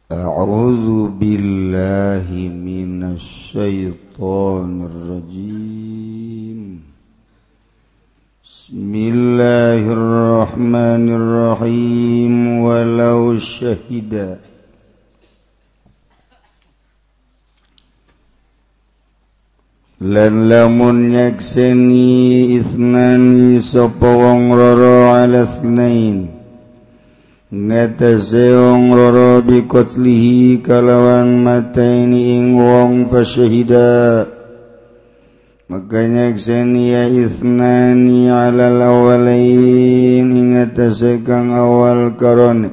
A'udzu billahi minasy syaithanir rajim. Bismillahirrahmanirrahim. Walau syahida lan lamun nyakseni isnani sapa wong loro ala tsnain ngatase wong loro biqatlihi kalawan mateni ing wong fasyahida maka nyakseni ya isnani ala awalain ing ngatase kang awal karone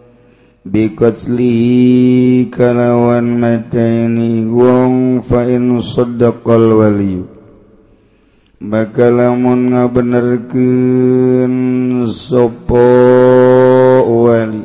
biqatlihi kalawan mateni wong fa in saddaqal waliyu maka lamun ngabenerkeun sapa wali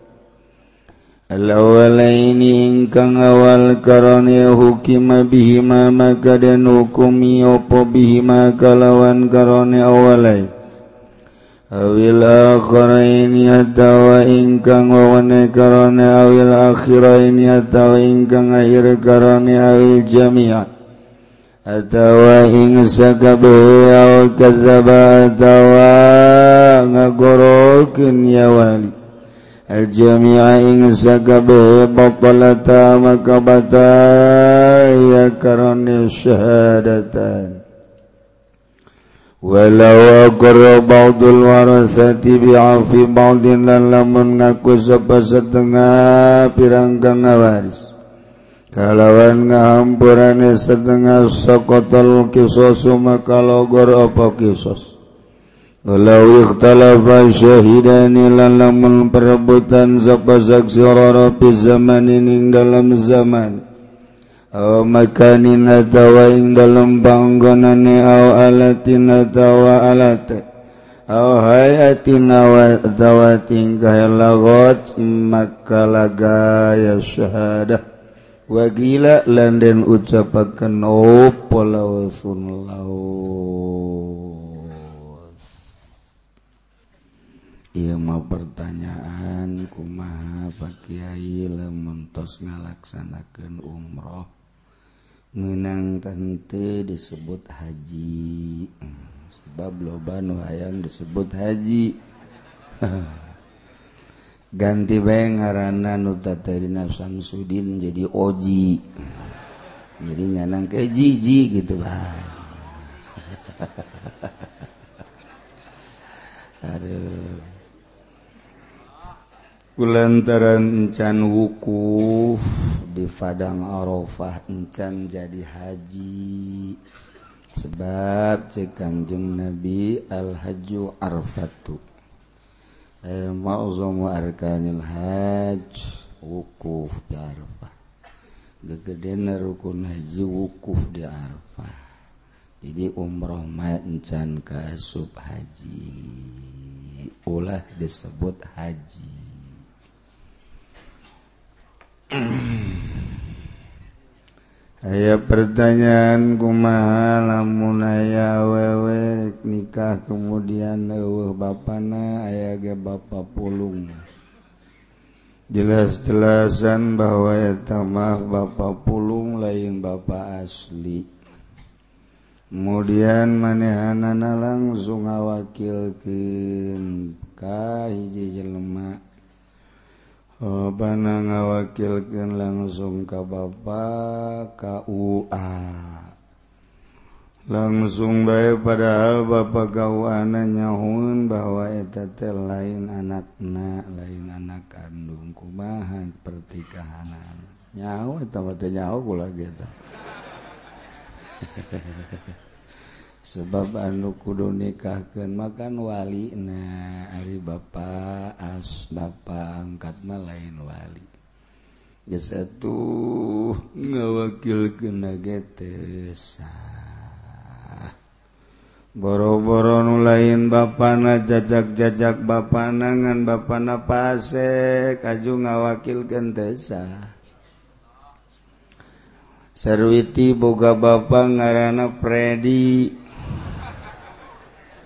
al-awalaini ingkang awal karane hukima bihima maka den hukumi apa bihima kalawan karane awalai awil akhiraini atawa ingkang wawane karane awil akhiraini atawa ingkang akhir karane awil jami'a atawa ing sakabehe aw kadzaba atawa ngagorokeun ya wali al-jami'a ing sakabehe batalata maka batal ya karane syahadatan walau aqarra ba'dul warasati bi'afi ba'din lan lamun ngaku sapa setengah pirangkang waris kalawan ngahampurane setengah saqatal qisasu maka logor apa qisas walau ikhtalafa syahidani lan lamun perebutan sapa saksi loro fi zamanin ing dalam zaman aw makanin atawa ing dalam panggonane aw alatin atawa alate aw hayatin atawa tingkah lagot maka lagaya syahadah wagila landen ucapaken opo lawsun lawas. Ieu mah pertanyaan kumaha Pak Kiai lamun tos ngalaksanakeun umroh ngeunang tante disebut haji sebab loba nu hayang disebut haji ganti bae ngaranna nu tatarina Samsudin jadi Oji jadi nganang ke Jiji gitu bae aduh kulantaran encan wukuf di Padang Arafah encan jadi haji sebab cek Kanjeng Nabi al-hajju arfatu ma'zumu arkanil hajj wukuf di Arafah gegedena rukun haji wukuf di Arafah jadi umroh mah encan kaasup haji ulah disebut haji. Aya pertanyaan kumaha lamun aya awewe nikah kemudian eueuh bapana aya ge bapa pulung. Jelas-jelasan bahwa eta mah bapa pulung lain bapa asli. Kemudian manehanana langsung ngawakilkeun ka hiji jelema bana ngawakilkeun langsung ka bapa KUA langsung bae padahal bapa KUA-na nyahoun bahwa eta teh lain anakna lain anak kandung kumaha pertikahanan nyaho eta mah teh nyaho kula eta sebab anu kudu nikahkeun makan walina ari bapa angkatna lain wali geus atuh ngawakilkeun ge teu sah boro-boro nu lain bapana jajak-jajak bapana ngan bapana pasek aju ngawakilkeun teu sah sarwiti boga bapa ngaranna Fredi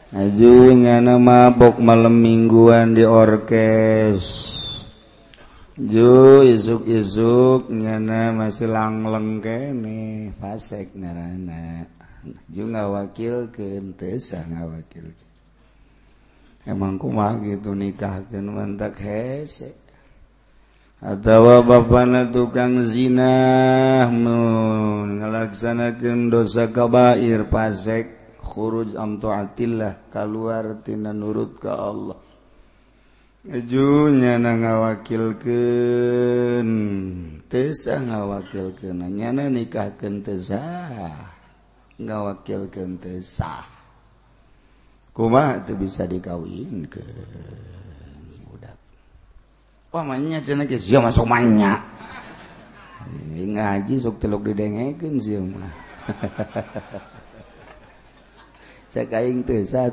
aju nyana mabok malam mingguan di orkes Ju isuk-isuk nyana masih langleng kene fasek ngaranna. Ju ngawakilkeun teu sah ngawakilkeun. Emang kumaha gitu nikahkeun mantak hese. Atawa bapana tukang zina mun ngalaksanakeun dosa kabair fasek khuruj am taatillah kaluar tina nurut ka Allah. Ejunya ngawakilkeun teu sah ngawakilkeun nyana nikahkeun teu sah ngawakilkeun teu sah kumaha teu bisa dikawinkeun budak wah manya cenah ge sia masuk manya ngaji sok teluk didengekeun sia mah sakaing teu sah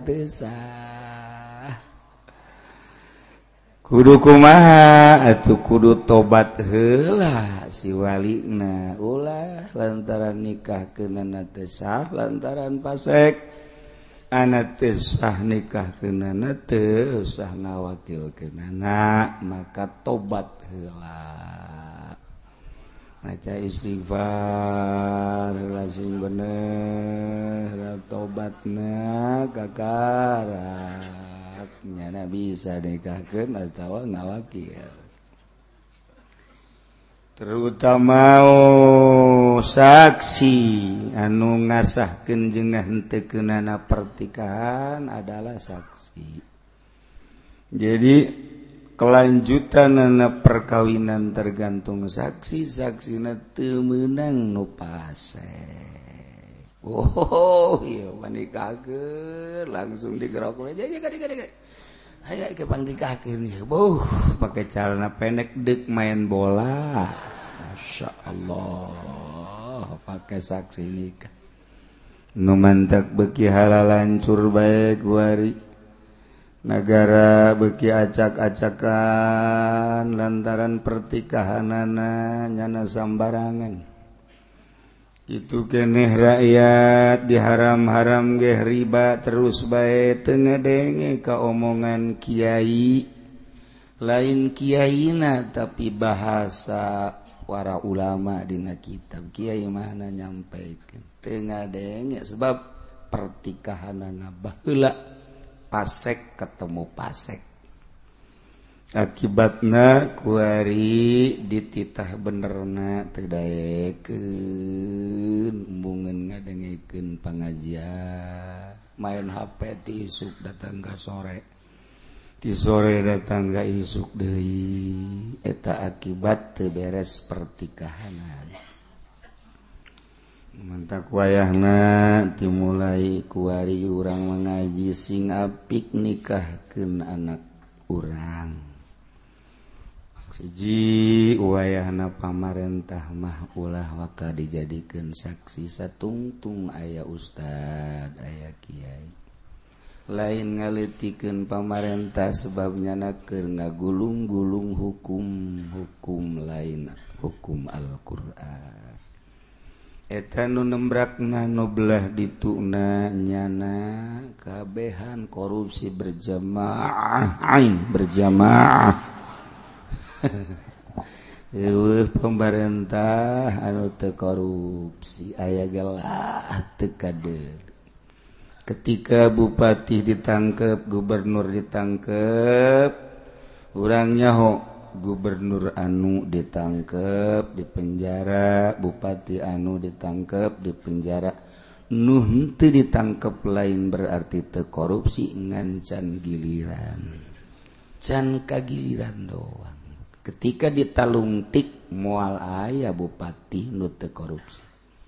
kudu kumaha atuh kudu tobat heula si walina ulah lantaran nikahkeunana teu sah lantaran fasek ana teu sah nikahkeunana teu sah ngawakilkeunana maka tobat heula maca istighfar heula sing bener tobatna kakara nyana bisa nikahkeun atawa ngawakil terutama saksi anu ngasahkeun jeung ngahentekeunana pertikahan adalah saksi jadi kelanjutanana perkawinan tergantung saksi saksina teu meunang nu pasek oh iya nikahkeun langsung digerok aja ayo ke pangnikahkeun ieu pakai celana pendek deuk main bola Masya Allah pakai saksi nikah nu mantak beuki halal lancur bae guari negara beuki acak-acakan lantaran pertikahanana nyana sambarangan itu keneh rakyat diharam-haram ge riba terus bae teu ngadenge ka omongan kiai lain kiaina tapi bahasa para ulama dina kitab kiai mana nyampaikeun teu ngadenge sebab pertikahanana baheula pasek ketemu pasek akibatna kuari dititah benerna teu daekeun embungeun ngadengekeun pangajian main HP ti isuk datang ka sore ti sore datang ka isuk deui eta akibat teu beres pertikahanan mantak wayahna dimulai kuari urang mengaji sing apik nikahkeun anak urang siji wayahna pamarentah mah ulah waka dijadikeun saksi satungtung aya ustad aya kiai lain ngaleutikeun pamarentah sebab nyana keur ngagulung-gulung hukum lain hukum Al-Qur'an eta nu nembrakna nu belah dituna nyana kabehan korupsi berjamaah pemerintah anu teu korupsi aya gelah teu kader ketika bupati ditangkep gubernur ditangkep urang nyaho gubernur anu ditangkep di penjara bupati anu ditangkep di penjara nu henteu ditangkep lain berarti teu korupsi ngan can giliran can kagiliran doang ketika ditalungtik moal aya bupati nu teu korupsi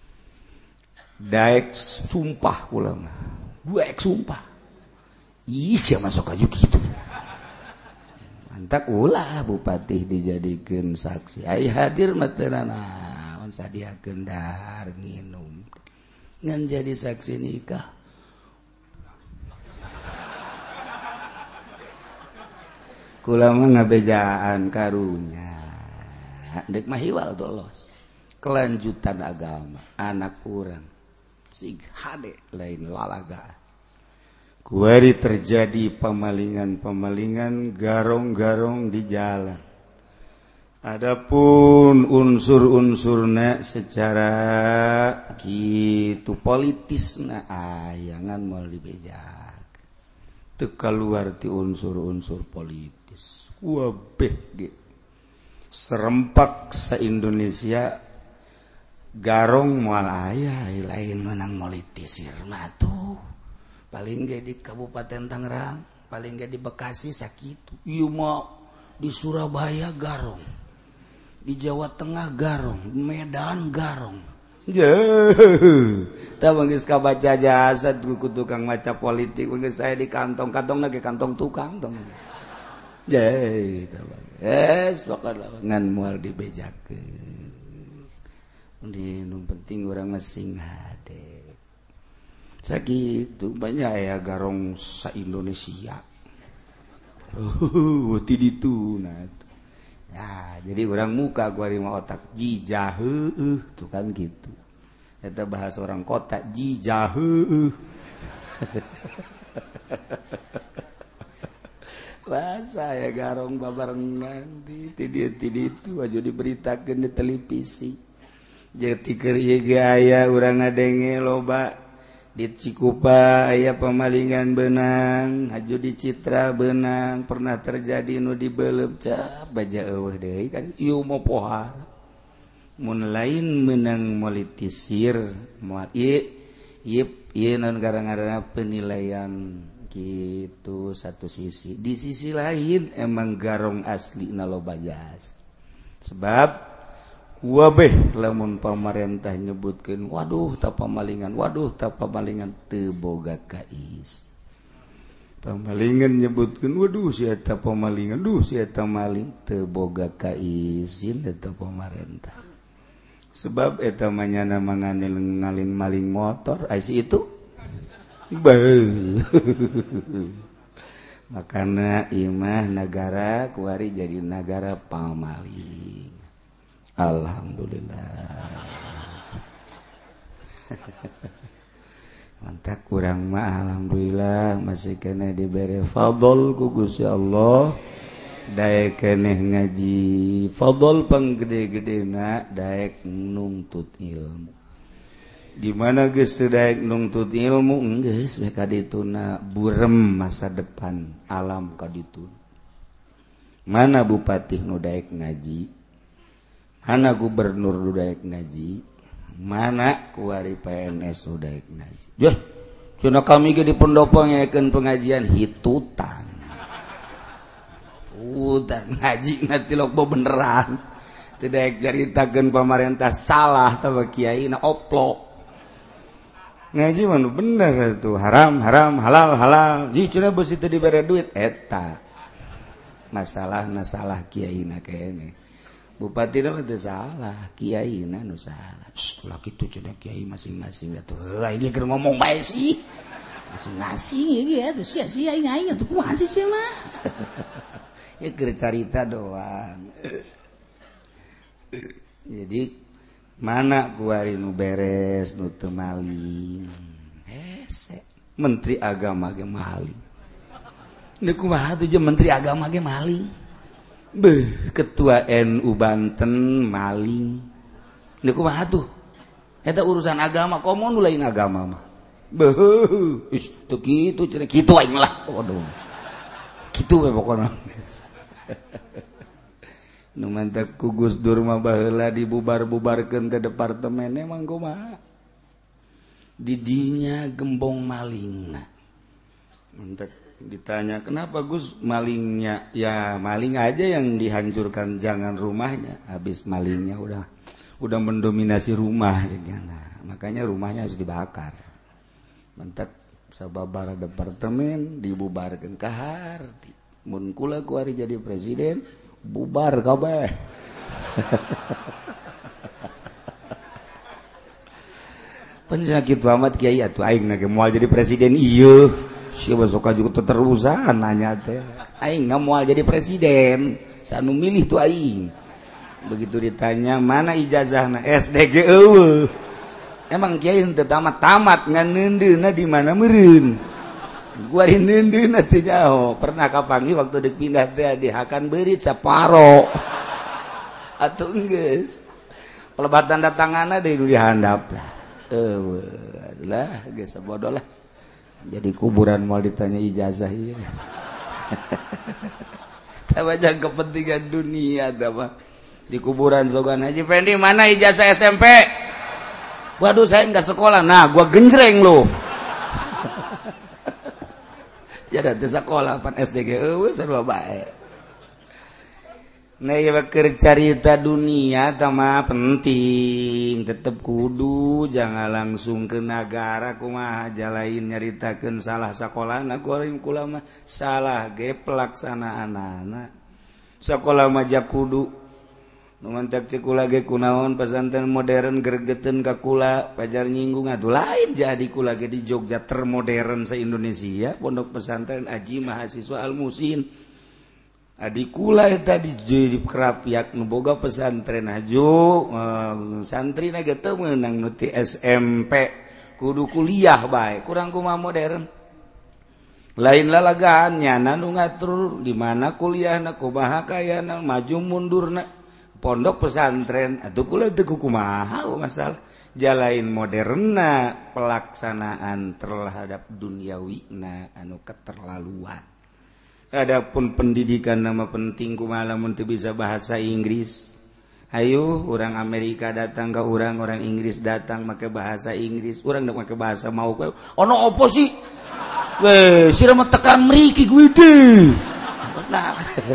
daek sumpah ulama buek sumpah ih sia masuk aju kitu mantak ulah bupati dijadikeun saksi ai hadir mah teu naon sadiakeun dahar nginum ngan jadi saksi nikah kula mah ngabejaan karunya dek mah hiwal dolos kelanjutan agama anak urang sig hade lain lalaga kuari terjadi pemalingan-pemalingan garong-garong di jalan Adapun unsur-unsurna secara gitu politisna ayangan mau dibejak teu kaluar ti unsur-unsur politis wabeh ge serempak sa Indonesia garong moal aya lain menang politisir mah tuh paling ge di Kabupaten Tangerang paling ge di Bekasi sakitu ieu mah di Surabaya garong di Jawa Tengah garong, di Medan garong. Tak manggis kabaca jasa ku tukang maca politik, manggis saya di kantong lagi kantong tukang tong. Pokoknya ngan moal dibejakeun. Di nu penting urang ngesing hade. Sakitu banyak ya garong sa Indonesia. Ti ditu nah. Ya, jadi orang muka gua mah otak jijah tuh kan gitu. Eta bahasa orang kota jijah bahasa ya garong babarengan ti itu aja diberitakeun di televisi. Jadi keur ieu aya urang ngadenge loba di Cikupa aya pamalingan benang haju di Citra benang pernah terjadi nu dibeuleup cap baja eueuh deui kan ieu mah pohar mun lain menang politisir moal ieu naon gara-gara penilaian gitu satu sisi di sisi lain emang garong asli na loba jas sebab wabeh lamun pamarentah nyebutkeun waduh tak pamalingan teu boga kais pamalingan nyebutkeun waduh si eta pamalingan si eta maling teu boga kaisin eta pamarentah sebab eta mah nyana ngaling maling motor ais itu makana imah negara kuari jadi negara pamaling. Alhamdulillah mantap kurang mah alhamdulillah masih kena diberi fadl ku Gusti Allah daek keneh ngaji fadl panggede-gedena daek nungtut ilmu di mana geus daek nungtut ilmu geus we kadituna burem masa depan alam kaditun mana bupati nu daek ngaji mana gubernur nu daek ngaji mana kuari PNS nu daek ngaji jah cenah kami ge di pendopo ngayakeun pengajian hitutan udah ngaji nanti loba beneran teu daek caritakeun pamarentah salah tah kiai na oplok ngaji mah nu bener atuh haram halal ji cenah beus teu dibere duit eta masalahna salah kiai na keneh bupati mah teu salah, kiai na nu salah. Ulah kitu cenah kiai masing-masing atuh. Heuh ini keur ngomong bae sih. Masing-masing ieu atuh sia-sia aing atuh kumaha sih sia mah. Ya keur carita doang. Jadi mana kuari nu beres nu teu maling. Hese menteri agama ge maling. Nih kumaha tuh je menteri agama ge maling. Ketua NU Banten maling. Nih kumaha tuh? Eta urusan agama, komo nu lain agama mah. Teu kitu cenah kitu aing lah. Waduh. Kitu we pokona. Nu mantak ku Gus Dur mah baheula dibubar-bubarkeun ke departemen emang kumaha? Di dinya gembong malingna. Mantak ditanya kenapa Gus malingnya ya maling aja yang dihancurkan jangan rumahnya habis malingnya udah mendominasi rumah nah, makanya rumahnya harus dibakar mentek sababara departemen dibubarkan kahar mun kula kuari jadi presiden bubar kabeh penyakit amat kiai atuh aing na moal jadi presiden ieu siapa suka juga terusan nanya teh aing moal jadi presiden sanu milih tuh aing begitu ditanya mana ijazahna SDG eueuh emang kiai teu tamat ngan neundeuna di mana meureun gua di neundeuna teh nyaho pernah kapanggih waktu deuk pindah teh di Hakan Beurit saparo atuh geus pelebatan datanganna deui nu dihandap lah geus bodoh lah jadi kuburan mau ditanya ijazah ieu tah baca kepentingan dunia tah mah di kuburan sogan Haji Pendi mana ijazah SMP waduh saya enggak sekolah nah gua genjreng lo ya da teu sekolah pan SD ge eueuh sarua bae nah ieu keur carita dunia tah mah penting tetep kudu jangan langsung ke negara kumaha jalain nyaritakeun salah sakolahna goreng kula mah salah ge pelaksanaanana sakola mah jak kudu numantak cikula ge kunaon pesantren modern gregeteun ka kula pajar nyinggung atuh lain jadi kula ge di Jogja termodern se-Indonesia pondok pesantren Aji Mahasiswa Al-Musin adi kula eta di Kerapiak nu boga pesantren ajo santrina ge teu meunang nu ti SMP kudu kuliah bae kurang kumaha modern lain lalagaan nyana nu ngatur di mana kuliahna kumaha kayana maju mundurna pondok pesantren atuh kula teu kumaha masalah jalain moderna pelaksanaan terhadap duniawina anu keterlaluan adapun pendidikan nama penting kumaha lamun teu bisa bahasa Inggris ayo orang Amerika datang ke orang Inggris datang make bahasa Inggris urang da make bahasa mau ono apa sih we sira mah tekan mriki kuwi teh nah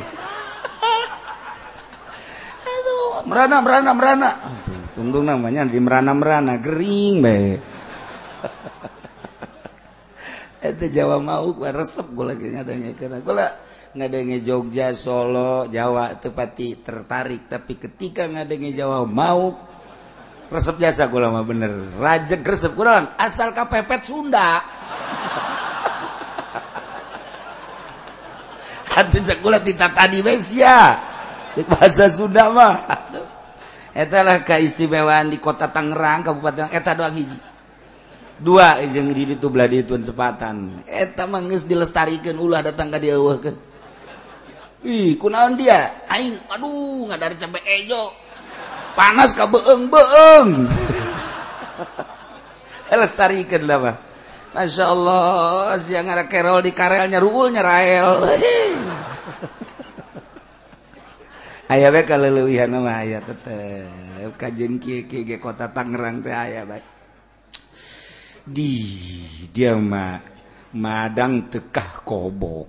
merana tuntung namanya di merana gering bae eta Jawa mau resep gua lagi ngadengekeun gua ngadenge Jogja Solo Jawa teu pati tertarik tapi ketika ngadenge Jawa mau resep jasa gua mah bener rajeg resep kurang asal kapepet Sunda atuh sakula ditatadi we sia di bahasa Sunda mah eta lah keistimewaan di kota Tangerang Kabupaten eta doang hiji dua jeung di ditu belah ditueun sepatan eta mah geus dilestarikeun ulah datang ka dieu eueuhkeun ih kunaon dia aing aduh ngadari cabe ejo panas ka beung lestarikeun lah mah masyaallah sia ngara kerol di karelnya ruul nyarael aya bae kaleuweuhan mah aya tetep kajen kieu ge kota Tangerang teh aya bae dia mah madang tekah kobok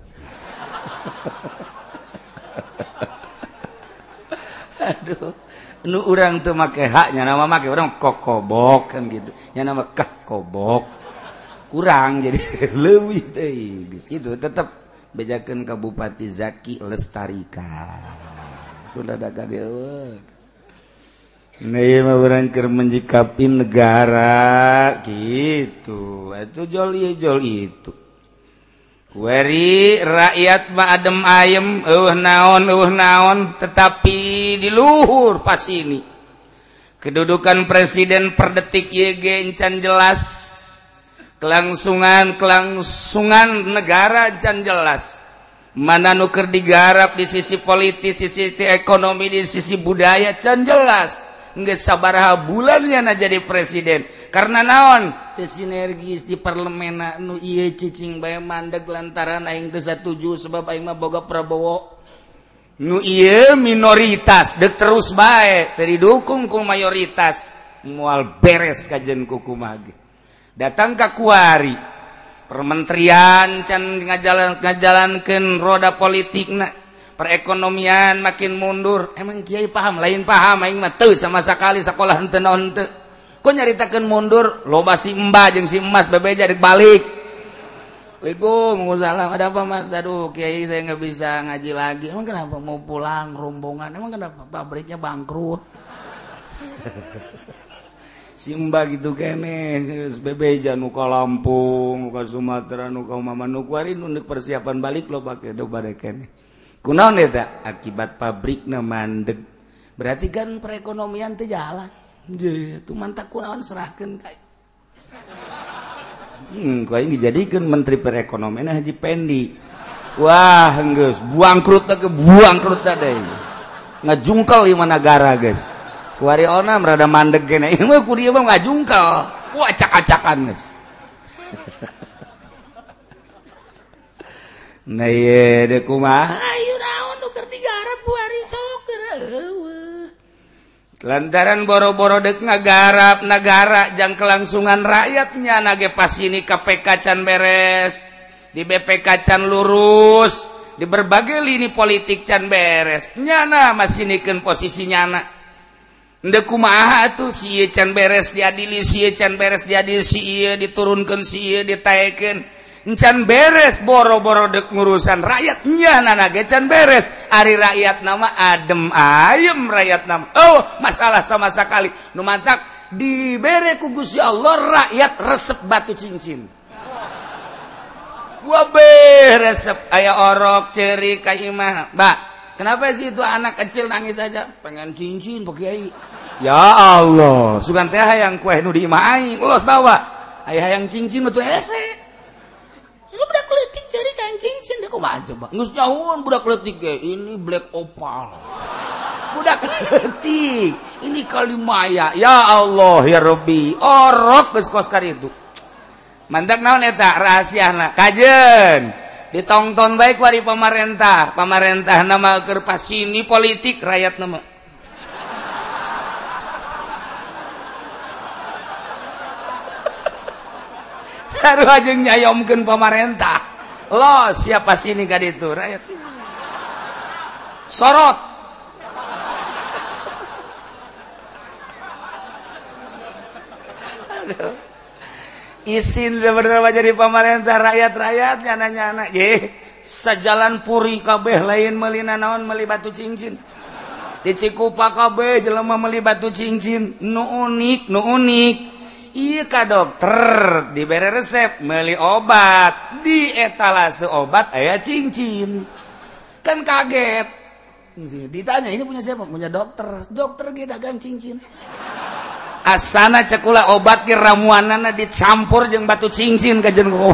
aduh nu urang teu make haknya nama make urang kokobok kan gitu nya nama kah kobok kurang jadi leuwih teh geus kitu tetep bejakeun ka Bupati Zaki Lestarika udah daga deuk nah ieu mah urang keur menjikapi negara gitu itu jol itu kueri rakyat mah adem ayem naon tetapi di luhur pas ini kedudukan presiden per detik YG encan jelas kelangsungan negara encan jelas mana nu keur digarap di sisi politis, sisi ekonomi, di sisi budaya can jelas. Geus sabaraha bulannya na jadi presiden. Karena naon? Teu sinergis di parlemen nu ieu cicing bae mandeg lantaran aing teu satuju sebab aing mah boga Prabowo. Nu ieu minoritas deuk terus bae teu didukung ku mayoritas. Moal beres kajen ku kumaha ge. Datang ka kuari permenterian can ngajalankeun roda politikna perekonomian makin mundur emang kiai paham lain paham aing mah teu sama sekali sakolah henteu naon teu kok nyaritakeun mundur loba si Mbah jeung si Emas bebeja rek balik Waalaikumsalam ada apa Mas aduh kiai saya enggak bisa ngaji lagi emang kenapa mau pulang rombongan emang kenapa pabriknya bangkrut si Mbah gitu kene bebeja nu ka Lampung nu ka Sumatera nu ka Mama nu kuari nu persiapan balik lo pake do bade kene kunaon eta akibat pabrikna mandeg berarti kan perekonomian teh jalan je tu mantak kunaon serahkeun ka ku aing dijadikeun menteri perekonomian Haji Pendi wah geus buangkrut teh buangkrut teh ngajungkel lima negara guys kuari onam rada mandeg kene ini mah ku dieu mah ngajungkel ku acak-acakan guys nah ye de kumaha ayo naon nu keur digarap kuari sok lantaran boro-boro dek ngagarap negara jang kelangsungan rakyatnya nage pas ini KPK can beres di BPK can lurus di berbagai lini politik can beres nyana masih nikeun posisi nyana ndeu kumaha atuh si ieu can beres diadili si ieu can beres diadili si ieu diturunkeun si ieu ditaekeun can beres boro-boro dek ngurusan rakyat nyana nage can beres ari rakyat nama adem ayem rakyat nama oh masalah sama sekali nu mantak dibere ku Gusti Allah rakyat resep batu cincin resep aya orok ceri ka imah mbak kenapa sih itu anak kecil nangis aja pengen cincin Pak Kiai ya Allah sugan teh hayang kue nu di imah aing ulos bawa aya hayang cincin betul hese lu budak leutik ceri kain cincin deh kumaha coba geus nyahoon budak leutik ge ini black opal budak leutik ini kalimaya ya Allah ya Rabbi orok geus kos ka ditu mandak naon eta rahasiana kajen ditongton baik wari pemerintah nama keur pasini politik rakyat nama sarua jeung nyayomkeun pemerintah los siapa sini ka ditu rakyat sorot aduh isin sebenarnya jadi pemerintah rakyat nyana ye sajalan puri kabeh lain meuli naon meuli batu cincin di Cikupa kabeh jelema meuli batu cincin nu unik ieu ka dokter dibere resep meuli obat di etalase obat aya cincin kan kaget ditanya ini punya siapa punya dokter ge dagang cincin asana cekula obat ki ramuanana dicampur jeung batu cincin kajen ku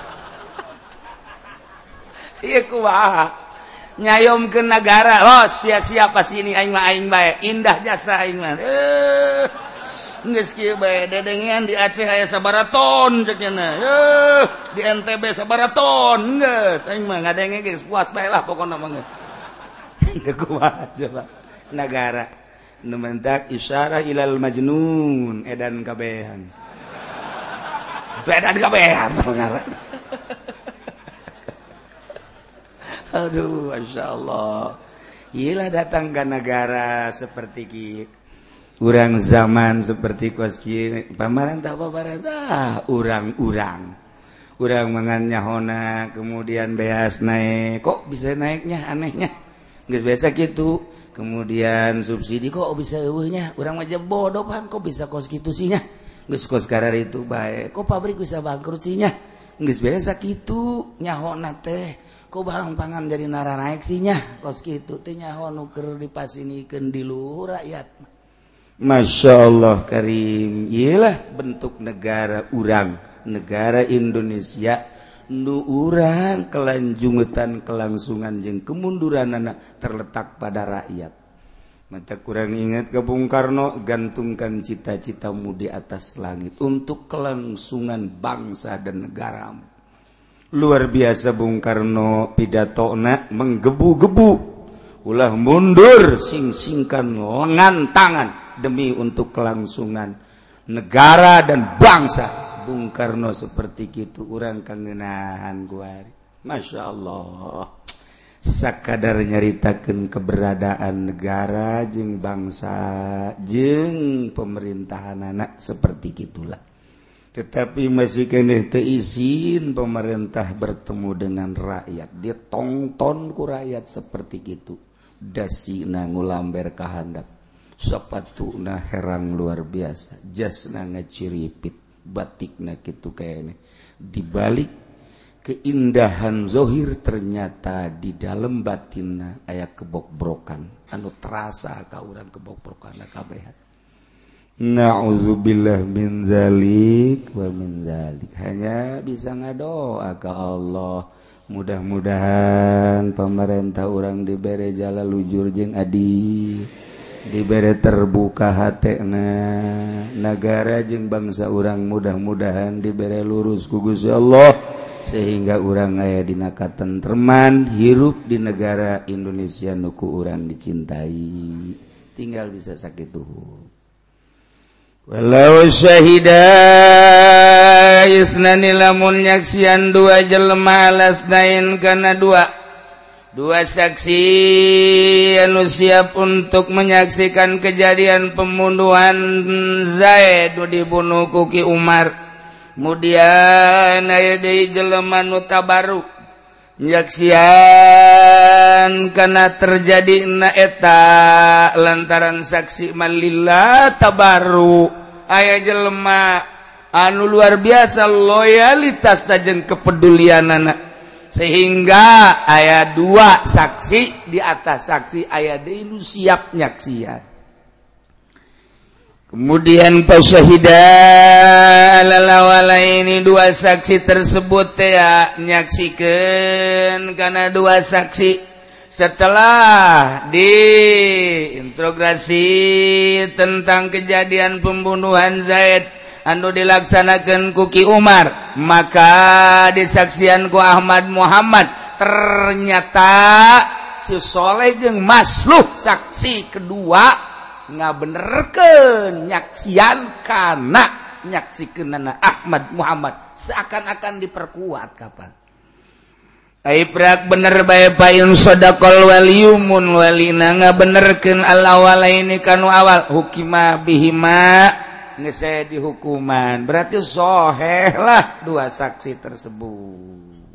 ieu kumaha nyayomkeun negara los sia-sia pas ini aing mah aing bae indah jasa aing mah geus kieu bae dedengean di Aceh aya sabaraha ton cek cenah di NTB sabaraha ton geus aing mah ngadenge geus puas bae lah pokona mah geus kumaha coba negara nu mentak isyarah ilal majnun edan kabehan itu edan kabehan aduh masyaallah iyalah datang ke negara seperti kieu urang zaman seperti kos kieu pamarentah urang mangan nyahona kemudian beas naik kok bisa naiknya anehnya geus biasa gitu kemudian subsidi kok bisa eueuhnya urang mah bodoh pan kok bisa kos kitu sih nya geus kos karar itu bae kok pabrik bisa bangkrut sih nya geus biasa kitu nyahona teh kok barang pangan jadi nara naik sih nya kos kitu teh nyaho nu keur dipasinikeun di luhur rakyat Masya Allah karim iyalah bentuk negara urang negara Indonesia nu urang kelanjungetan kelangsungan jeung kemunduranana terletak pada rakyat. Mata kurang ingat ke Bung Karno gantungkan cita-citamu di atas langit untuk kelangsungan bangsa dan negaramu. Luar biasa Bung Karno pidatona menggebu-gebu ulah mundur sing-singkan lengan tangan demi untuk kelangsungan negara dan bangsa. Bung Karno seperti itu urang kangenahan guari. Masya Allah sakadar nyaritakeun keberadaan negara jeung bangsa jeung pemerintahan anak seperti gitulah. Tetapi masih keneh teu izin pemerintah bertemu dengan rakyat. Dia tongton ku rakyat seperti gitu. Dasina ngulamber ka handap. Sapatuna herang luar biasa. Jasna ngaciripit. Batikna kitu kayaknya di balik keindahan zohir ternyata di dalam batinna aya kebobrokan anu terasa ka urang kebobrokan kabehan. Na'udzubillah min zalik wa min zalik. Hanya bisa ngadoa ka Allah mudah-mudahan pemerintah orang dibere jala lujur jeung adi dibere terbuka hatena negara jeung bangsa orang mudah-mudahan dibere lurus ku Gusti Allah sehingga urang aya dina katentreman hirup di negara Indonesia nuku urang dicintai tinggal bisa sakitu walau syahida isnani lamun nyaksian dua jelema alasnain kana dua saksi anu siap untuk menyaksikan kejadian pembunuhan Zaid dibunuh ku Ki Umar. Kemudian aya deui jelema nu tabaruk nyaksian kana terjadina eta lantaran saksi malillah tabaruk aya jelema anu luar biasa loyalitas jeung kepedulianana sehingga aya dua saksi di atas saksi aya deui nu siap nyaksian. Kemudian pasyahida alalawalaini dua saksi tersebut ya nyaksikeun kana dua saksi setelah diintrogasi tentang kejadian pembunuhan Zaid anu dilaksanakeun ku Ki Umar maka disaksian ku Ahmad Muhammad ternyata si Soleh jeung Masluh saksi kedua ngabenerkeun nyaksian kana nyaksikeunana Ahmad Muhammad seakan-akan diperkuat kapan aibrak bener bae payun sadaqal waliyumun walina ngabenerkeun al-awalaini kanu awal hukima bihima geus dihukuman berarti sahih lah dua saksi tersebut.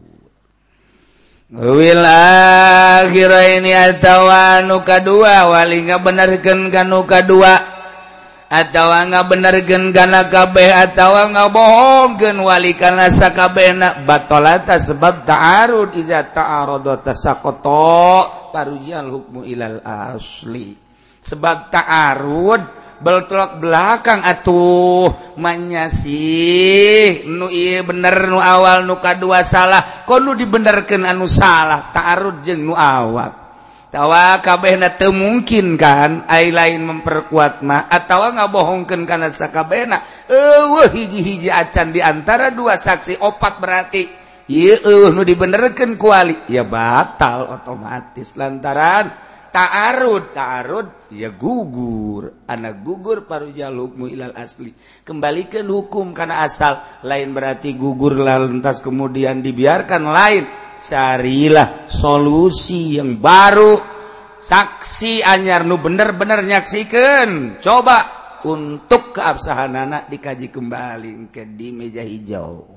Wil akhiraini atawa anu kadua wali ngabenerkeun kanu kadua atawa ngabenerkeun kana kabeh atawa ngabohongkeun wali kana sakabehna batolata sebab ta'arud iza ta'arada tasaqata parujal hukmu ilal asli sebab ta'arud belok belakang atuh manyasih nu ieu bener nu awal nu kadua salah kono dibenerkeun anu salah ta'arud jeung nu awal tawa kabehna teu mungkin kan ai lain memperkuat mah atawa ngabohongkeun kana sakabehna eueuh hiji-hiji acan di antara dua saksi opat berarti ieu nu dibenerkeun ku wali ya batal otomatis lantaran ta'arud ya gugur anak gugur parujal hukmu ilal asli kembalikan hukum karena asal lain berarti gugur lantas kemudian dibiarkan lain carilah solusi yang baru saksi anyar nu bener-bener nyaksikeun coba untuk keabsahanana dikaji kembali ke di meja hijau.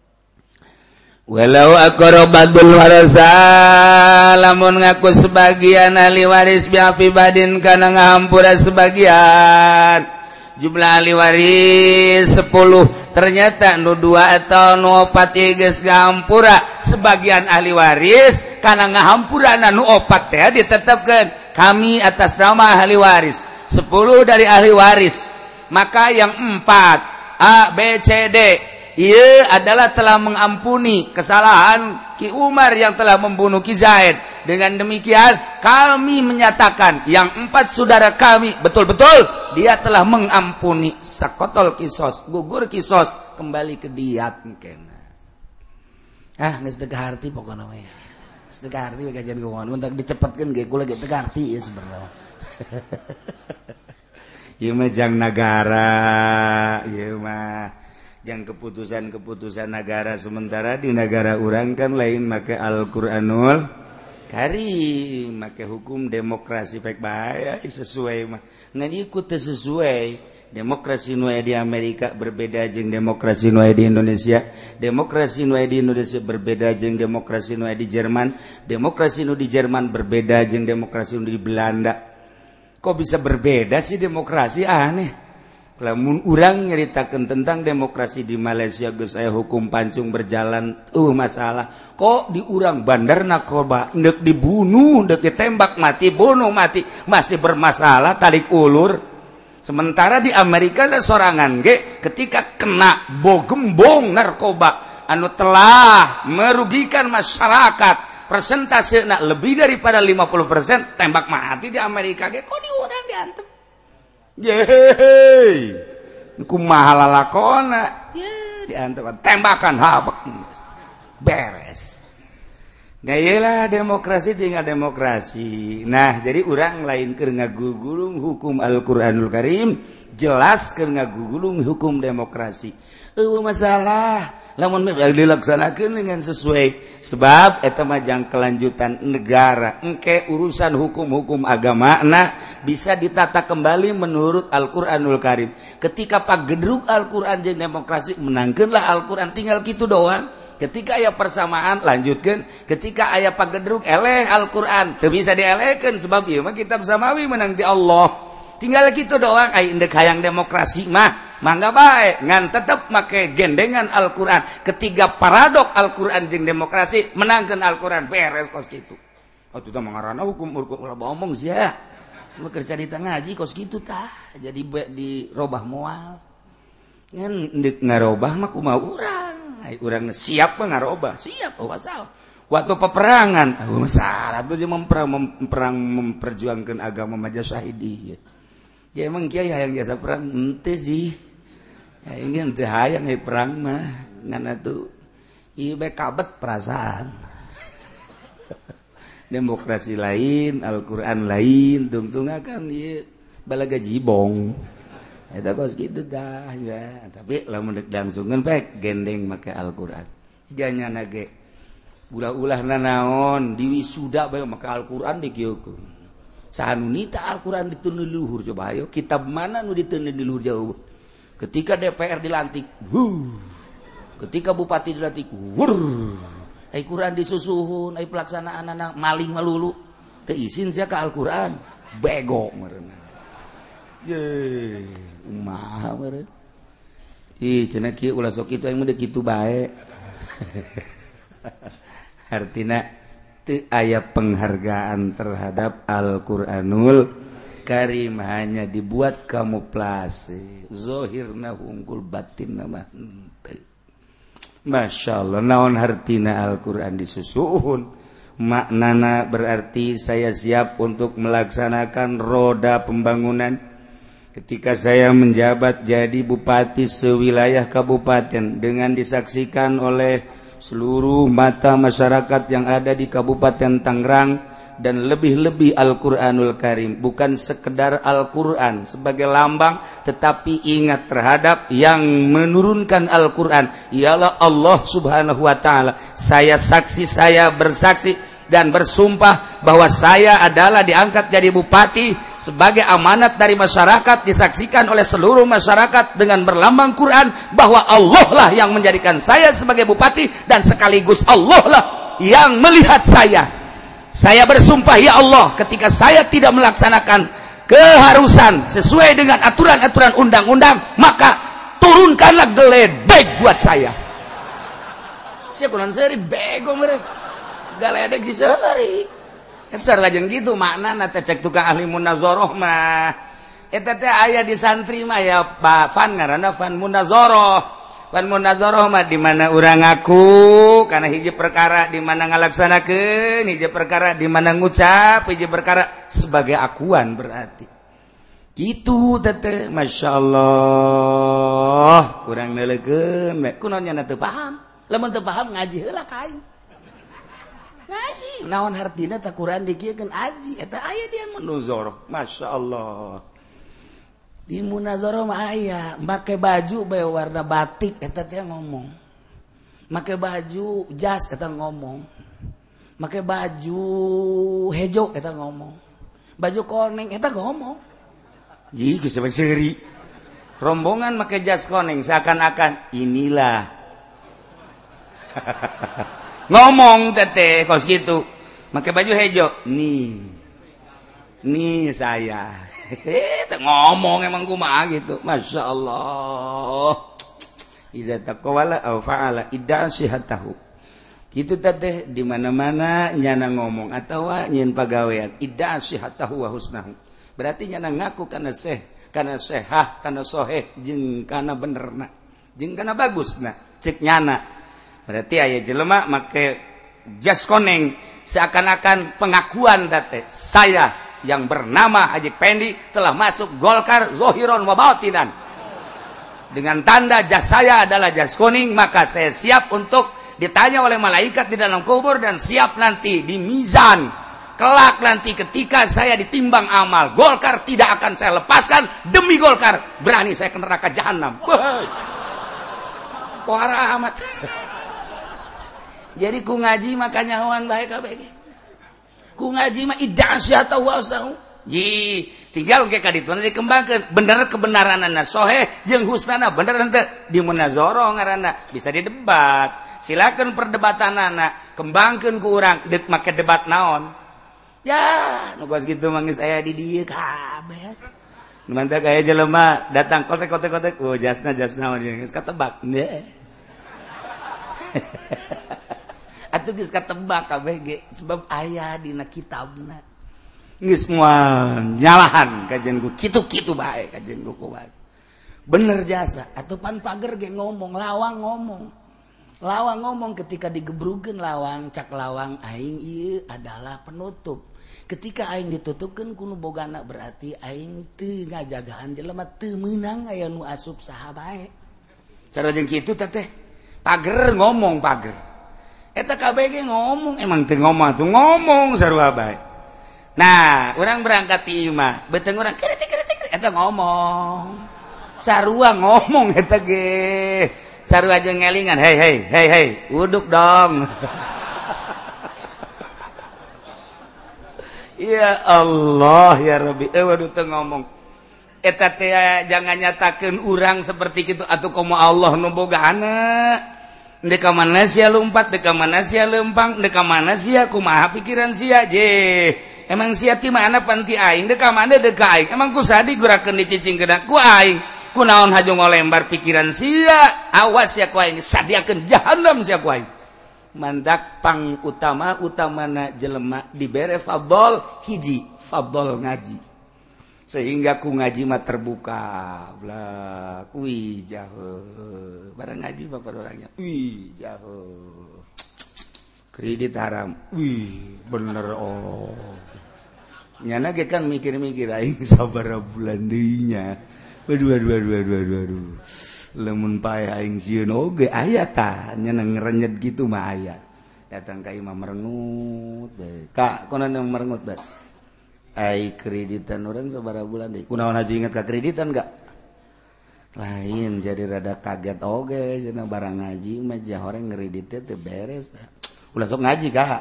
Walau aqrabatul warasa lamun ngaku sebagian ahli waris biapi badin kana ngahampura sebagian jumlah ahli waris 10 ternyata nu 2 atau nu 4 geus ngahampura sebagian ahli waris kana ngahampura nu 4 teh ditetepkeun kami atas nama ahli waris 10 dari ahli waris maka yang 4 A B C D ia adalah telah mengampuni kesalahan Ki Umar yang telah membunuh Ki Zaid. Dengan demikian kami menyatakan yang 4 saudara kami betul-betul dia telah mengampuni sakotol kisos gugur kisos kembali ke diat kena. Geus teu kaharti pokona mah. Geus teu kaharti we kajian kumaha mun dicepetkeun ge kula ge teu kaharti ya sebenarnya. Ieu mah jang nagara, ieu mah yang keputusan-keputusan negara sementara di negara orang kan lain make Al-Qur'anul Karim make hukum demokrasi pek bae sesuai mah ngan ikut sesuai demokrasi nu di Amerika berbeda jeung demokrasi nu di Indonesia demokrasi nu di Indonesia berbeda jeung demokrasi nu di Jerman demokrasi nu di Jerman berbeda jeung demokrasi nu di Belanda kok bisa berbeda sih demokrasi aneh. Lamun urang nyeritakeun tentang demokrasi di Malaysia geus aya hukum pancung berjalan masalah kok di urang bandar narkoba neuk dibunuh neuk ditembak mati bunuh mati masih bermasalah tarik ulur sementara di Amerika ada sorangan ge ketika kena gembong narkoba anu telah merugikan masyarakat persentasena lebih daripada 50%, tembak mati di Amerika ge kok di urang diantep. Yeay. Kumaha lalakona. Ye diantep tembakan habak. Beres. Gayelah demokrasi tinggal demokrasi. Nah, jadi urang lain keur ngagugulung hukum Al-Qur'anul Karim, jelas keur ngagugulung hukum demokrasi. Masalah lamun dilaksanakeun dengan sesuai sebab eta mah jang kelanjutan negara. Engke urusan hukum-hukum agamana bisa ditata kembali menurut Al-Qur'anul Karim. Ketika pagedruk Al-Qur'an jeung demokrasi menangkeunlah Al-Qur'an tinggal kitu doang. Ketika aya persamaan lanjutkeun, ketika aya pagedruk eleh Al-Qur'an teu bisa dielehkeun sebab ieu mah kitab samawi menang di Allah. Tinggal kitu doang ai endek hayang demokrasi mah mangga bae ngan tetep make gendengan Al-Qur'an. Ketiga paradok Al-Qur'an jeung demokrasi menangkeun Al-Qur'an beres kos kitu. Atuh tah mangarana hukum ulah omong sia. Lu kerja di tengah ngaji kos kitu tah jadi dirobah moal. Ngan endek ngarobah mah kumaha urang. Urang siap ngarobah, siap wasal. Waktu peperangan, masalah tuh dia memperjuangkan agama maja syahidi. Ya emang kiai hayang jasa perang ente sih. Ya ini ente hayang perang mah ngana tuh ieu kabet perasaan. Demokrasi lain, Al-Qur'an lain, tungtungakan ieu balaga jibong. Eta kos kitu dah ya, tapi lamun deuk langsungkeun pek gendeng make Al-Qur'an. Janyana ge ulah-ulahna naon diwisuda bae make Al-Qur'an dikieukeun. Sanu nita Al-Qur'an diteun luhur coba ayo kitab mana nu diteun di luhur jauh. Ketika DPR dilantik, ketika bupati dilantik, ai Qur'an disusuhun, ai pelaksanaanna maling malulu. Teu izin sia ka Al-Qur'an, bego meureunna. Ye, umaha meureun. Ih, cenah kieu ulah sok kitu aing mah kitu bae. Artina teu aya penghargaan terhadap Al-Qur'anul Karim, hanya dibuat kamuflase. Zahirna unggul batinna mah henteu. Masyaallah, naon hartina Al-Qur'an disusuhun? Maknana berarti saya siap untuk melaksanakan roda pembangunan. Ketika saya menjabat jadi bupati sewilayah kabupaten dengan disaksikan oleh seluruh mata masyarakat yang ada di Kabupaten Tangerang dan lebih-lebih Al-Qur'anul Karim, bukan sekedar Al-Qur'an sebagai lambang, tetapi ingat terhadap yang menurunkan Al-Qur'an ialah Allah Subhanahu wa taala. Saya saksi, saya bersaksi dan bersumpah bahwa saya adalah diangkat jadi bupati sebagai amanat dari masyarakat, disaksikan oleh seluruh masyarakat dengan berlambang Quran bahwa Allah lah yang menjadikan saya sebagai bupati dan sekaligus Allah lah yang melihat saya. Saya bersumpah ya Allah, ketika saya tidak melaksanakan keharusan sesuai dengan aturan-aturan undang-undang, maka turunkanlah geledek buat saya. Saya kurang seri bego mereka. Galedek si sehari. Eta lajeng gitu maknana teh cek tukang ahli munazarah mah. Eta teh aya di santri mah ya Pak Fan ngaranna Fan Munazarah. Fan Munazarah mah di mana urang ngaku kana hiji perkara di mana ngalaksanakeun, hiji perkara di mana ngucap, hiji perkara sebagai akuan berarti. Gitu teh masyaallah. Urang neulekeun kunaon nya teu paham. Lamun teu paham ngaji heula ka aing. Ngaji naon hartina ta Quran dikieukeun aji eta aya di munazarah. Masyaallah, di munazarah mah aya make baju bae warna batik eta teh ngomong, make baju jas eta ngomong, make baju hejo eta ngomong, baju koneng eta ngomong. Ji geus seuri rombongan make jas koneng seakan-akan inilah ngomong teteh kos gitu, pakai baju hejo, nih saya, ngomong emang kumaha gitu, masya Allah. Iza taqawala aw fa'ala idda sihatahu. Gitu teteh di mana-mana nyana ngomong atau nyin pagawean idda sihatahu wa husnahu. Berarti nyana ngaku kana sehah, kana soheh, jeung kana benerna, jeung kana bagusna, cek nyana. berarti aya jelema make jas koneng seakan-akan pengakuan date saya yang bernama Haji Pendi telah masuk Golkar zahiran wa batinan. Dengan tanda jas saya adalah jas kuning, maka saya siap untuk ditanya oleh malaikat di dalam kubur dan siap nanti di mizan. Kelak nanti ketika saya ditimbang amal, Golkar tidak akan saya lepaskan. Demi Golkar berani saya ke neraka jahanam. Parah amat. Jadi ku ngaji makanya hawan baik kabeh. Ku ngaji mah ida'asyata wasau. Ji, tinggal ke kadituna dikembangkeun. Bener kebenaranna sahih jeung husnana bener henteu di munazarah ngaranna, bisa didebat. Silakan perdebatanana kembangkeun ku urang, deuk make debat naon. Ya, nu geus kitu mah geus aya di dieu kabeh. Nu mantap aya jelema datang kotek-kotek, oh jasna geus katebak. Atuh geus katebak kabeh ge sebab aya dina kitabna. Geus moal nyalahan kajen ku kitu-kitu bae kajen ku kuat. Bener jasa atuh pan pager ge ngomong lawang ngomong ketika digebrukeun lawang cak lawang aing ieu adalah penutup. Ketika aing ditutupkeun ku nu bogana berarti aing teu ngajagaan jelema teu meunang aya nu asup saha bae. Sareng kitu teh pager ngomong pager. Eta kabeh ge ngomong, emang teu ngomong atuh ngomong sarua bae. Nah, urang berangkat ti imah, beuteung urang kritik eta ngomong. Sarua ngomong eta ge. Sarua jeung ngelingan, hei, uduk dong. Ya Allah ya Rabbi, waduh teu ngomong. Eta teh jangan nyatakeun urang seperti kitu atuh komo Allah nu bogaana. Dek ka mana sia lompat, dek ka mana sia lempang, dek ka mana sia kumaha pikiran sia je. Emang sia ti mana panti aing, dek ka mana dek ka aing. Emang ku sadi gurakeun dicicingkeun ku aing. Ku naon haju ngolembar pikiran sia. Awas sia ku aing, sadiakeun jahanam sia ku aing. Mandak pang utamana jelema dibere fadol hiji, fadol ngaji. Sehingga ku ngaji mah terbuka blak wih jauh barang ngaji bapak orangnya wih jauh kredit haram wih bener oh nyana ge kan mikir-mikir aing sabaraha bulan deui nya waduh lamun paeh aing sieun oge aya tah nyana ngerenyet gitu mah aya datang ka imam merengut bae kak konon merengut bae ai kreditan orang sabaraha bulan deui. Kunaon haji inget ka kreditan enggak? Lain jadi rada kaget oge cenah barang ngaji mah jah horeng ngredit teh teu beres tah. Ulah sok ngaji Kak.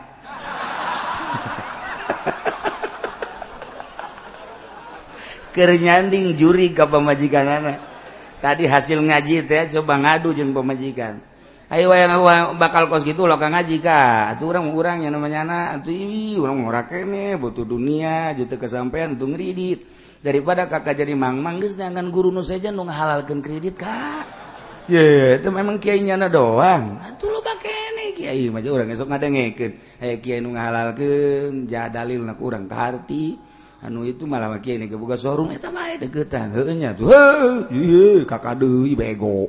Keur nyanding juri ka pamajikanana. Tadi hasil ngaji teh coba ngadu jeung pamajikan. Ayo wayang bakal kos gitu lo ka ngaji ka. Atuh urang yang namanya anak atuh urang ngora kene butuh dunia juta kesampean untuk ngredit. Daripada kakak jadi mang-mang geus dengan guru nu saja nu ngahalalkeun kredit Kak. Ye, itu memang kiai nyana doang. Atuh lo bakene kiai mah urang esok ngadengekeun. Aya kiai nu ngahalalkeun ja dalilna ku urang kaharti. Anu itu malah kiai nu boga showroom eta mah deuketan. Heueuh nya tuh. Heuh, kakak deui bego.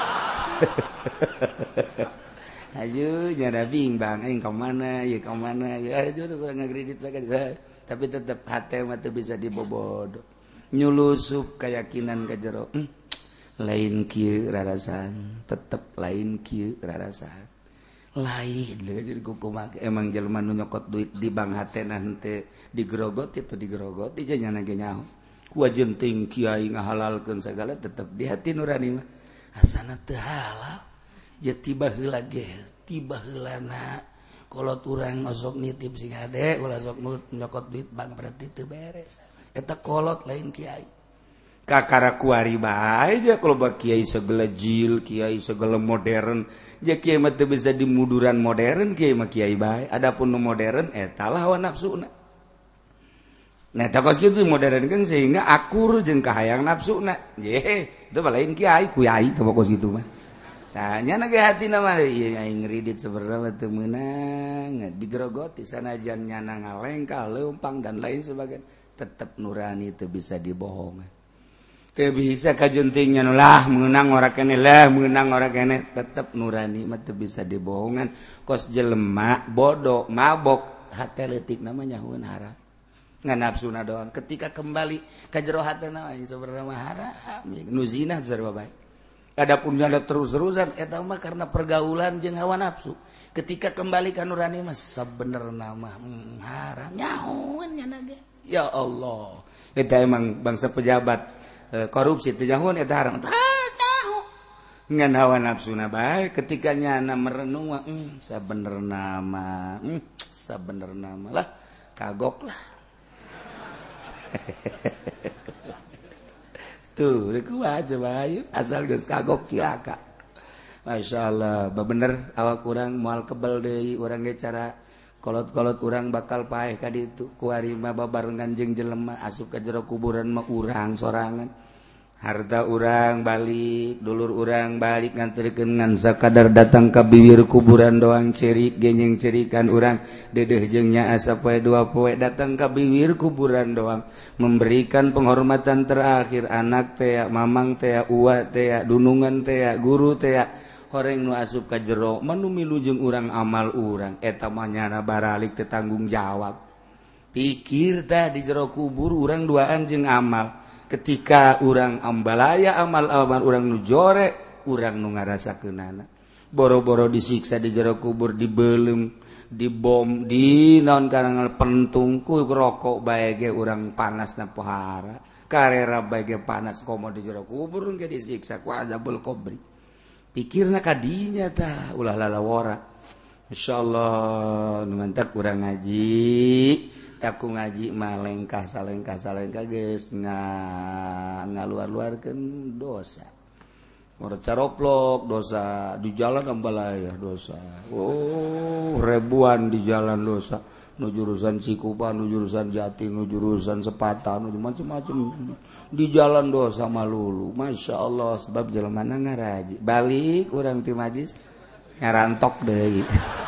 Ayo nyada bimbang aing ka mana ieu ka mana ayo urang ngakredit bae tapi tetep hate mah teu bisa dibobod nyulusup keyakinan ka jero lain kieu rarasan tetep lain kieu rarasan lain jadi kumaha emang jelema nu nyokot duit di bank hatena henteu digerogoti teu digerogoti jeung nyana ge nyaho ku ajenting kiai ngahalalkeun sagala tetep di hati nurani mah asana teu halal ya tiba heula ge tiba heulana kolot urang osok nitip sing ade ulah sok nyokot duit bank berarti teu beres eta kolot lain kiai kakara kuari bae aja kalau bak kiai segala jil kiai segala modern ja kiai mah teu bisa dimuduran modern kiai mah kiai bae adapun nu modern eta lah hawa nafsuna nah takos kitu modern kan sehingga akur jeung kahayang nafsuna ye itu lain kiai kuyai teu pokos kitu mah tanya nage hati nama iya aing ngridit seberapa teu meunang digerogoti sanajan nyana ngalengkal leumpang dan lain sebagainya tetap nurani teu bisa dibohongan teu bisa kajuntingnya lah menang orang kene lah menang orang kene tetep nurani mah teu bisa dibohongan kos jelema bodoh mabok hate leutik namanya nyahuan haram ngan nafsuna doang ketika kembali ka jero hatena sebenarnya haram nu zina sarua bae adapun nyanda terus-terusan eta mah karena pergaulan jeung hawa nafsu ketika kembali ka nurani mah sabenerna mah haram nyahuan nya ge ya Allah eta emang bangsa pejabat korupsi teh nyahuan eta haram tahu ngan hawa nafsuna bae ketika nyana merenung sabenerna mah lah kagok lah tuh kuat coba ayo asal geus kagok cilaka masyaallah bener awak urang moal kebal deui urang ge cara kolot-kolot urang bakal paeh ka ditu ku ari mah babarengan jeung jelema asup ka jero kuburan mah urang sorangan harta urang balik dulur urang balik nganterkeun ngan sakadar datang ka bibir kuburan doang cerik genyeng cerikan urang dedeh jeung nya asa poe dua poe datang ka bibir kuburan doang memberikan penghormatan terakhir anak teh mamang teh uwa teh dunungan teh guru teh horeng nu asup ka jero manu milu jeung urang amal urang eta mah nyana baralik teu tanggung jawab pikir tah di jero kubur urang duaan jeung amal ketika urang ambalaya amal-amal urang nu jore urang nu ngarasakeunana boro-boro disiksa di jero kubur dibeulem dibom di naon kana pentung ku rokok bae ge urang panasna pohara karera bae ge panas komo di jero kubur ge disiksa ku azabul qabri pikirna ka dinya tah ulah lalawora insyaallah nu mantak urang ngaji taku ngaji mah lengkah salengkah geus ngaluar-luarkeun dosa moro caroplok dosa di jalan ambalaya dosa ribuan di jalan dosa nu jurusan Cikupa nu jurusan Jati nu jurusan Sepata nu macam-macam di jalan dosa malulu masyaallah sebab jelemana ngaraji balik urang ti majlis ngarantok deui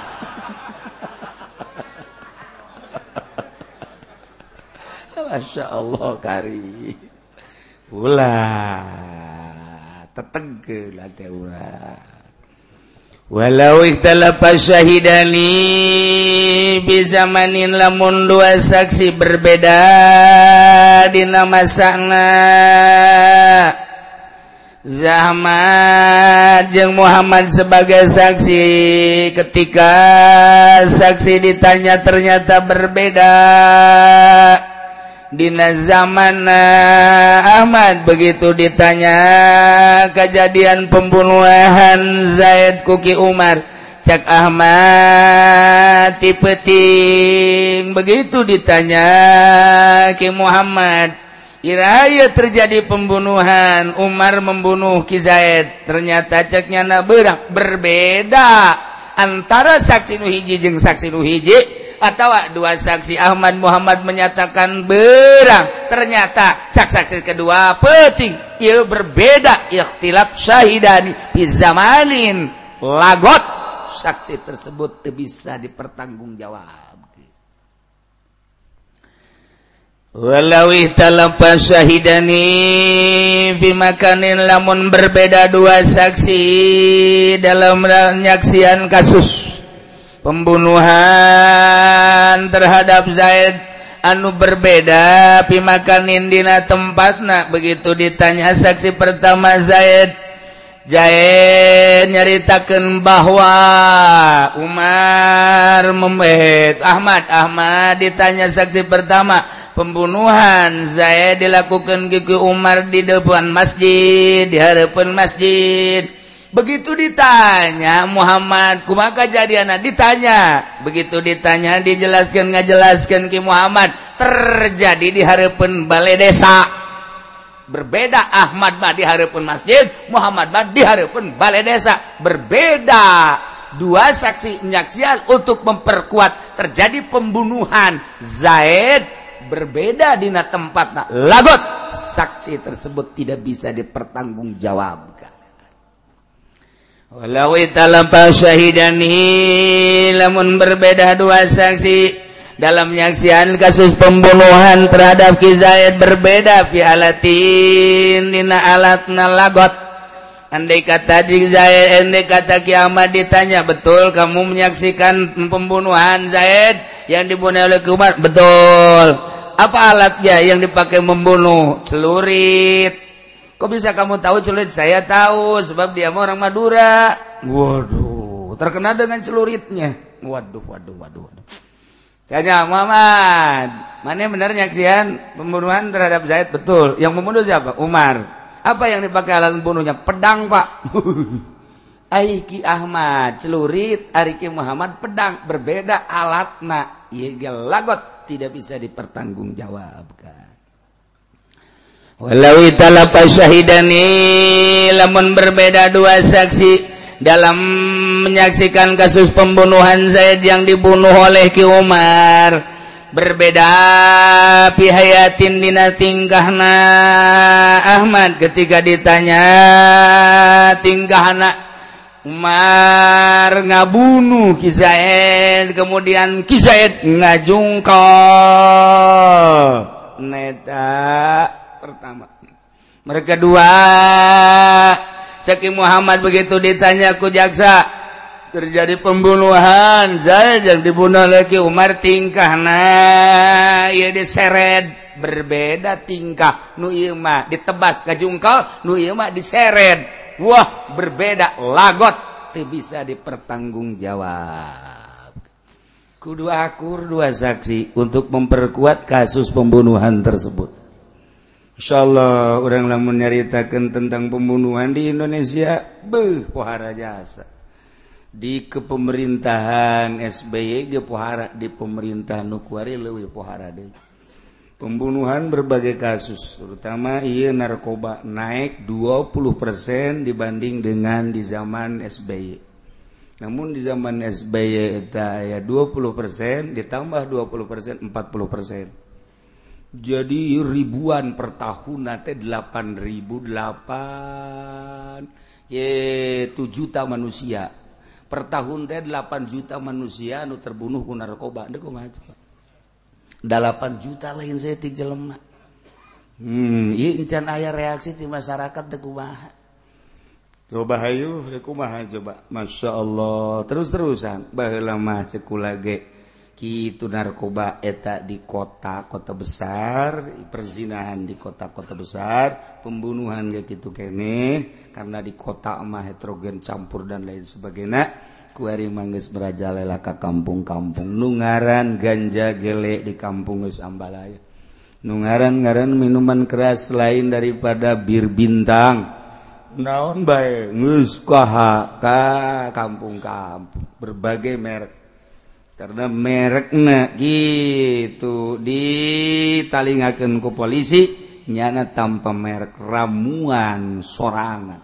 Masya Allah kari ulah tetegel ate urang walau ikhtalafa syahidani bi zamanin lamun dua saksi berbeda dina masana Zahmad jeung Muhammad sebagai saksi ketika saksi ditanya ternyata berbeda dina zaman Ahmad begitu ditanya kejadian pembunuhan Zaid kuki Umar cak Ahmad tipeting begitu ditanya ki Muhammad iraya terjadi pembunuhan Umar membunuh ki Zaid ternyata ceknya na berbeda antara saksi nu hiji jeung saksi nu hiji atau dua saksi Ahmad Muhammad menyatakan berang ternyata saksi kedua penting ieu berbeda ikhtilaf syahidani fi zamanin lagot saksi tersebut teu bisa dipertanggungjawab walau ihtalafa syahidani fi makanin lamun berbeda dua saksi dalam penyaksian kasus pembunuhan terhadap Zaid anu berbeda pimakanin dina tempatna begitu ditanya saksi pertama Zaid nyaritakeun bahwa Umar Ahmad ditanya saksi pertama pembunuhan Zaid dilakukan ke Umar di depan masjid di harapan masjid. Begitu ditanya Muhammad kumaha kajadianna ditanya begitu ditanya ngajelaskeun ki Muhammad terjadi di hareupeun balai desa berbeda Ahmad mah di hareupeun masjid Muhammad mah di hareupeun balai desa berbeda dua saksi menyaksikan untuk memperkuat terjadi pembunuhan Zaid berbeda dina tempatna lagot saksi tersebut tidak bisa dipertanggungjawabkan. Walau italafa syahidani lamun berbeda dua saksi dalam penyaksian kasus pembunuhan terhadap Ki Zaid berbeda fi alatin dina alatna lagot. Andai kata Ki Zaid, andai kata kiamat ditanya, betul kamu menyaksikan pembunuhan Zaid yang dibunuh oleh Umar? Betul. Apa alatnya yang dipakai membunuh? Celurit. Kok bisa kamu tahu celurit? Saya tahu sebab dia orang Madura. Waduh, terkenal dengan celuritnya. Waduh. Tanya Muhammad, mana benar nyaksian pembunuhan terhadap Zaid? Betul. Yang membunuh siapa? Umar. Apa yang dipakai alat membunuhnya? Pedang, Pak. Aiki Ahmad celurit, Ariki Muhammad pedang, berbeda alatna. Iya lagot, tidak bisa dipertanggungjawabkan. Walau italapa syahidani, lamun berbeda dua saksi dalam menyaksikan kasus pembunuhan Zaid yang dibunuh oleh Ki Umar, berbeda pihayatin dina tingkahna Ahmad ketika ditanya tingkahna Umar ngabunuh Ki Zaid, kemudian Ki Zaid ngajungkal. Neta pertama. Mereka dua Syekh Muhammad begitu ditanya ku jaksa, terjadi pembunuhan Zaid yang dibunuh oleh Ki Umar, tingkahna ieu diseret, berbeda tingkah. Nu ieu mah ditebas ngajungkal, nu ieu mah diseret. Wah, berbeda lagot, teu bisa dipertanggungjawab. Kudu akur dua saksi untuk memperkuat kasus pembunuhan tersebut. Insyaallah orang lamun nyaritakeun tentang pembunuhan di Indonesia, pohara jasa. Di kepemerintahan SBY ge pohara, di pemerintahan nu kuari leuwih pohara deui. Pembunuhan berbagai kasus, terutama ieu narkoba naik 20% dibanding dengan di zaman SBY. Namun di zaman SBY eta aya 20% ditambah 20% 40%. Jadi ribuan per tahun nanti 8.008 7 juta manusia per tahun teh 8 juta manusia anu terbunuh ku narkoba. Deuk kumaha coba 8 juta lain saya ti jelema. Ieu encan aya reaksi ti masyarakat teh kumaha? Coba hayu deuk kumaha coba. Masyaallah terus-terusan baheula mah ceuk kula ge kitu narkoba eta di kota-kota besar, perzinahan di kota-kota besar, pembunuhan kayak gitu kene karena di kota mah heterogen campur dan lain sebagainya. Kuari manggeus merajalela ka kampung-kampung, nu ngaran ganja gele di kampung geus ambalaya. Nu ngaran minuman keras lain daripada bir bintang. Naon bae geus ka kampung-kampung berbagai merek. Karena merekna gitu ditalingakeun ku polisi nyana tanpa merek, ramuan sorangan.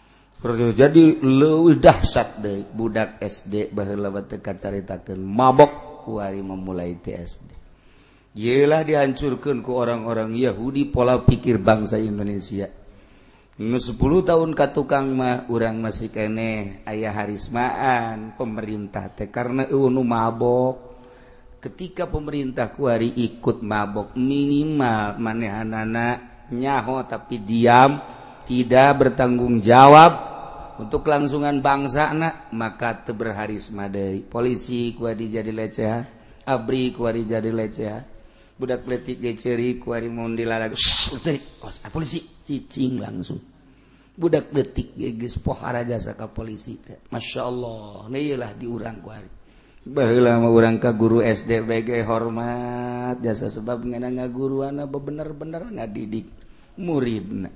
Jadi leuwih dahsyat deui budak SD baheula teh kacaritakeun mabok ku ari memulai ti SD. Ieulah dihancurkeun ku orang-orang Yahudi pola pikir bangsa Indonesia. 10 tahun ka tukang mah urang masih keneh aya harismaan pemerintah teh karena nu mabok. Ketika pemerintah kuari ikut mabok, minimal manehanana nyaho tapi diam, tidak bertanggung jawab untuk kelangsungan bangsana, maka teu berharisma deui. Polisi kuari jadi lecehan, abri kuari jadi lecehan. Budak letik ge ceuri kuari mun dilalag. Polisi cicing langsung. Budak letik ge geus pohara jasa ka polisi. Masyaallah, ieulah diurang kuari. Baheula mah urang ka guru SD bege hormat jasa sebab ngana ngaguruana bener-bener ngadidik muridna.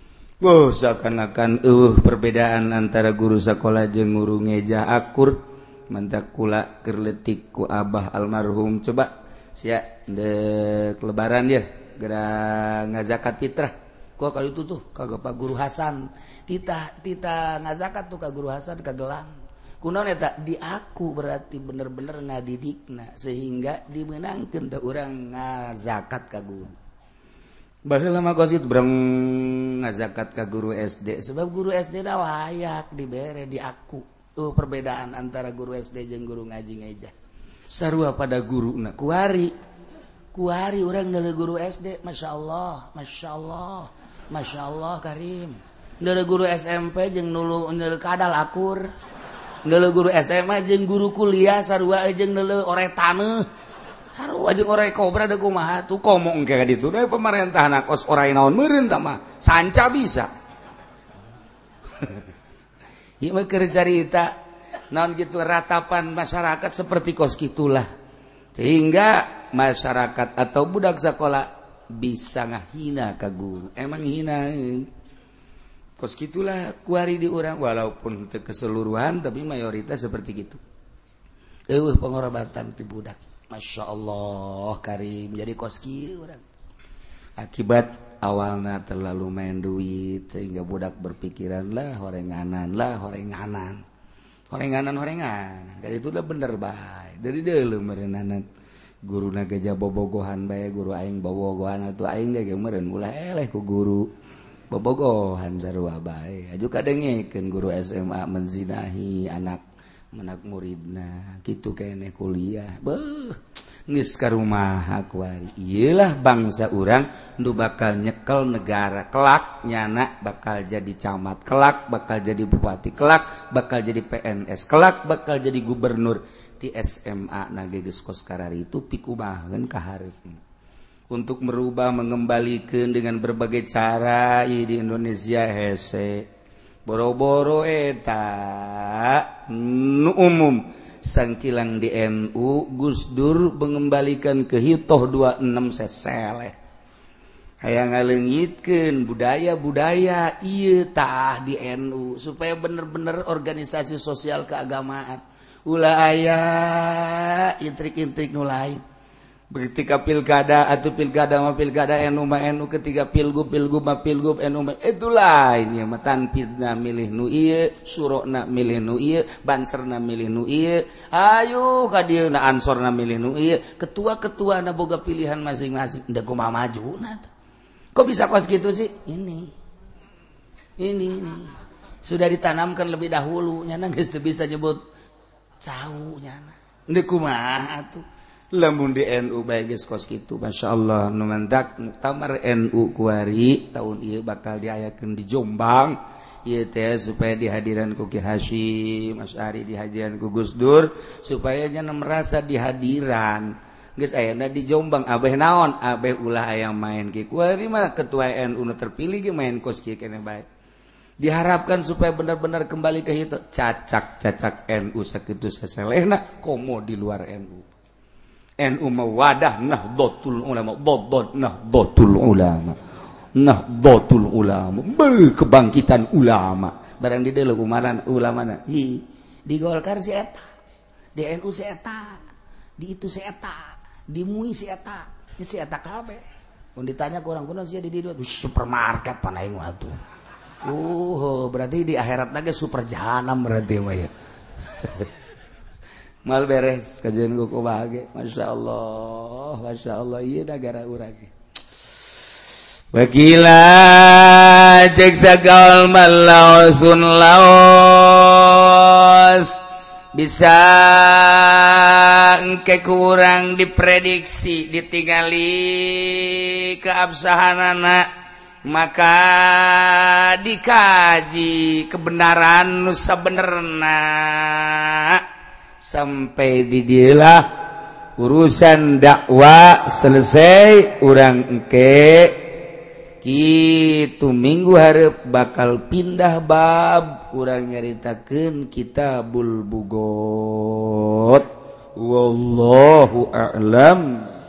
Seakan-akan perbedaan antara guru sekolah jeung guru ngeja akur. Mantak kula keur leutik ku Abah almarhum. Coba sia dek lebaran ya gara ngazakat fitrah. Kok kali itu tuh kagak Pak Guru Hasan. Tita ngazakat tuh ka Guru Hasan ka Gelang. Kunaon eta di aku berarti bener-bener ngadidikna sehingga dimenangkeun da urang ngazakat ka guru. Baheula mah gosit breng ngazakat ka guru SD sebab guru SD da layak dibere di aku. Perbedaan antara guru SD jeung guru ngaji ngejah. sarua pada guruna kuari urang neuleuh guru SD masyaallah Karim neuleuh guru SMP jeung neuleuh kadal akur neuleuh guru SMA jeung guru kuliah sarua jeung neuleuh ore taneuh sarua jeung ore kobra da kumaha tuh komo engke ka ditu da pamarentahna kos ora naon meureun tah mah sanca bisa ieu mah keur carita naon gitu ratapan masyarakat seperti kos gitulah sehingga masyarakat atau budak sekolah bisa ngahina ka guru emang hinaeun kos gitulah kuari di urang walaupun teu keseluruhan tapi mayoritas seperti gitu eueuh pengorobatan ti budak masyaallah Karim jadi kos kieu urang akibat awalna terlalu main duit sehingga budak berpikiran lah horenganan dari itu udah bener bae dari deuleu meureunana guruna gajah bobogohan bae guru aing bobogohan atuh aing ge meureun ulah eleh ku guru bobogohan sarua bae aju kadengekeun guru SMA menzinahi anak muridna kitu keneh kuliah beuh geus ka rumaha kuari ieulah bangsa urang nu bakal nyekel negara kelak nyana bakal jadi camat kelak bakal jadi bupati kelak bakal jadi PNS kelak bakal jadi gubernur ti SMA na geus kos karari itu pikumaheun ka hareupeun untuk merubah mengembalikan dengan berbagai cara di Indonesia hese boro-boro eta nu umum sangkilang di NU Gus Dur mengembalikan ke hitoh 26 seseleh hayang ngaleungitkeun budaya-budaya ieu tah di NU supaya bener-bener organisasi sosial keagamaan ulah aya intrik-intrik nu lain ketika pilkada atau pilkada NU mah NU ketika pilgub mah pilgub NU mah itu lain ya mah tanpidna milih nu ieu surona milih nu ieu banserna milih nu ieu ayo ka dieu na ansorna milih nu ieu ketua-ketuana boga pilihan masing-masing da kumaha majuna kok bisa kos gitu sih ini sudah ditanamkan lebih dahulu nyana geus teu bisa nyebut cau nyana da kumaha atuh lamun di NU bae geus kos kitu masyaallah nu mantak muktamar NU kuari tahun ieu bakal diayakeun di Jombang ieu teh supaya dihadiran ku Ki Hasyim Asy'ari dihadiran ku Gus Dur supaya nya merasa dihadiran geus ayana di Jombang abeh naon abeh ulah aya main ki kuari mah ketua NU nu terpilih ge main kos kieu keneh bae diharapkan supaya benar-benar kembali ke hitu cacak NU sakitu saselehna komo di luar NU NU mawadah nahdlatul ulama kebangkitan ulama barang di deuleu umaran ulamana di Golkar si eta di NU si eta di itu si eta di MUI si eta kabeh mun ditanya ku urang kunaon sia di dieu supermarket panaing mah atuh berarti di akhirat lagi super jahanam berarti mah ya mal beres kajian ku kubage masyaallah ieu negara urang wakila cek sagaul malausun laos bisa engke kurang diprediksi ditingali keabsahanana maka dikaji kebenaran nu sabenerna sampai di dieulah urusan dakwah selesai urang engke kitu minggu hareup bakal pindah bab urang nyaritakeun Kitabul Bughot wallahu a'lam.